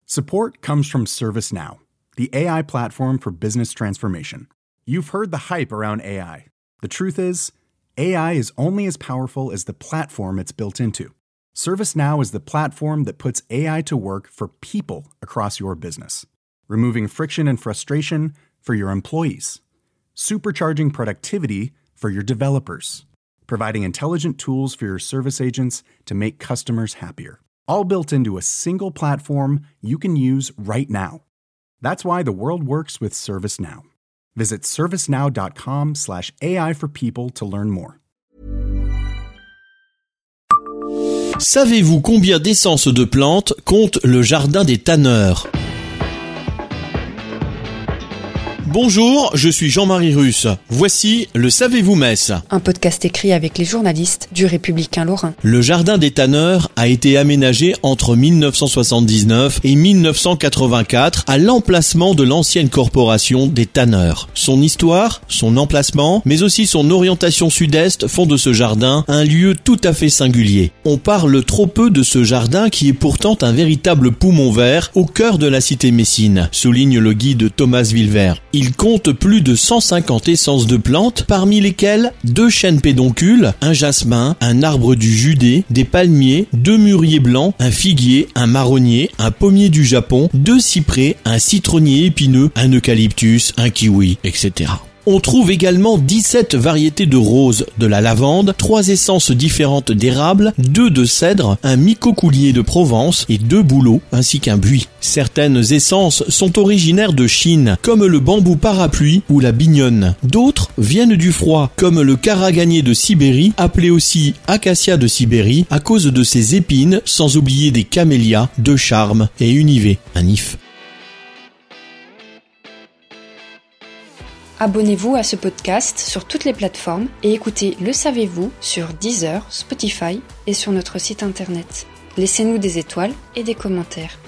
Support comes from ServiceNow, the AI platform for business transformation. You've heard the hype around AI. The truth is, AI is only as powerful as the platform it's built into. ServiceNow is the platform that puts AI to work for people across your business, removing friction and frustration for your employees, supercharging productivity for your developers, providing intelligent tools for your service agents to make customers happier. All built into a single platform you can use right now. That's why the world works with ServiceNow. Visit servicenow.com/AI for people to learn more. Savez-vous combien d'essences de plantes compte le jardin des tanneurs ? Bonjour, je suis Jean-Marie Russe. Voici le Savez-vous Metz ? Un podcast écrit avec les journalistes du Républicain Lorrain. Le jardin des tanneurs a été aménagé entre 1979 et 1984 à l'emplacement de l'ancienne corporation des tanneurs. Son histoire, son emplacement, mais aussi son orientation sud-est font de ce jardin un lieu tout à fait singulier. On parle trop peu de ce jardin qui est pourtant un véritable poumon vert au cœur de la cité messine, souligne le guide Thomas Villevert. Il compte plus de 150 essences de plantes, parmi lesquelles 2 chênes pédoncules, un jasmin, un arbre du Judée, des palmiers, 2 mûriers blancs, un figuier, un marronnier, un pommier du Japon, 2 cyprès, un citronnier épineux, un eucalyptus, un kiwi, etc. On trouve également 17 variétés de roses, de la lavande, 3 essences différentes d'érable, 2 de cèdre, un micocoulier de Provence et 2 bouleaux, ainsi qu'un buis. Certaines essences sont originaires de Chine, comme le bambou parapluie ou la bignonne. D'autres viennent du froid, comme le karaganier de Sibérie, appelé aussi acacia de Sibérie, à cause de ses épines, sans oublier des camélias, de charme et une ivée, un if. Abonnez-vous à ce podcast sur toutes les plateformes et écoutez Le Savez-vous sur Deezer, Spotify et sur notre site internet. Laissez-nous des étoiles et des commentaires.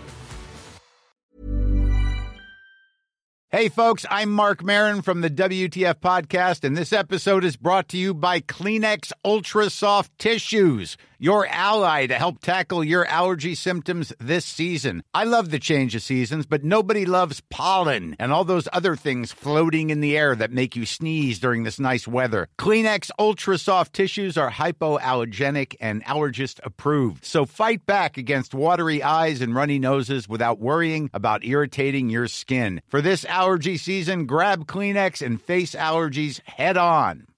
Hey folks, I'm Mark Maron from the WTF Podcast, and this episode is brought to you by Kleenex Ultra Soft Tissues, your ally to help tackle your allergy symptoms this season. I love the change of seasons, but nobody loves pollen and all those other things floating in the air that make you sneeze during this nice weather. Kleenex Ultra Soft Tissues are hypoallergenic and allergist approved, so fight back against watery eyes and runny noses without worrying about irritating your skin. For this allergy season, grab Kleenex and face allergies head on.